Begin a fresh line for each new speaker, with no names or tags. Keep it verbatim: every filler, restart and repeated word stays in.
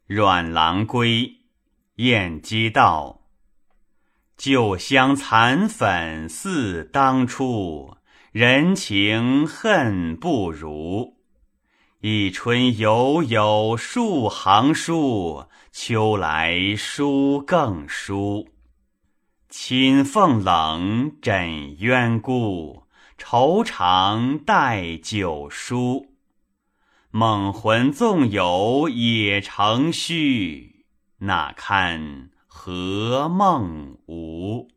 阮郎归，晏几道。旧乡残粉似当初，人情恨不如。一春犹有数行书，秋来书更疏。亲凤冷，枕鸳孤，愁长待酒书。梦魂纵有也成虚，那堪何梦无。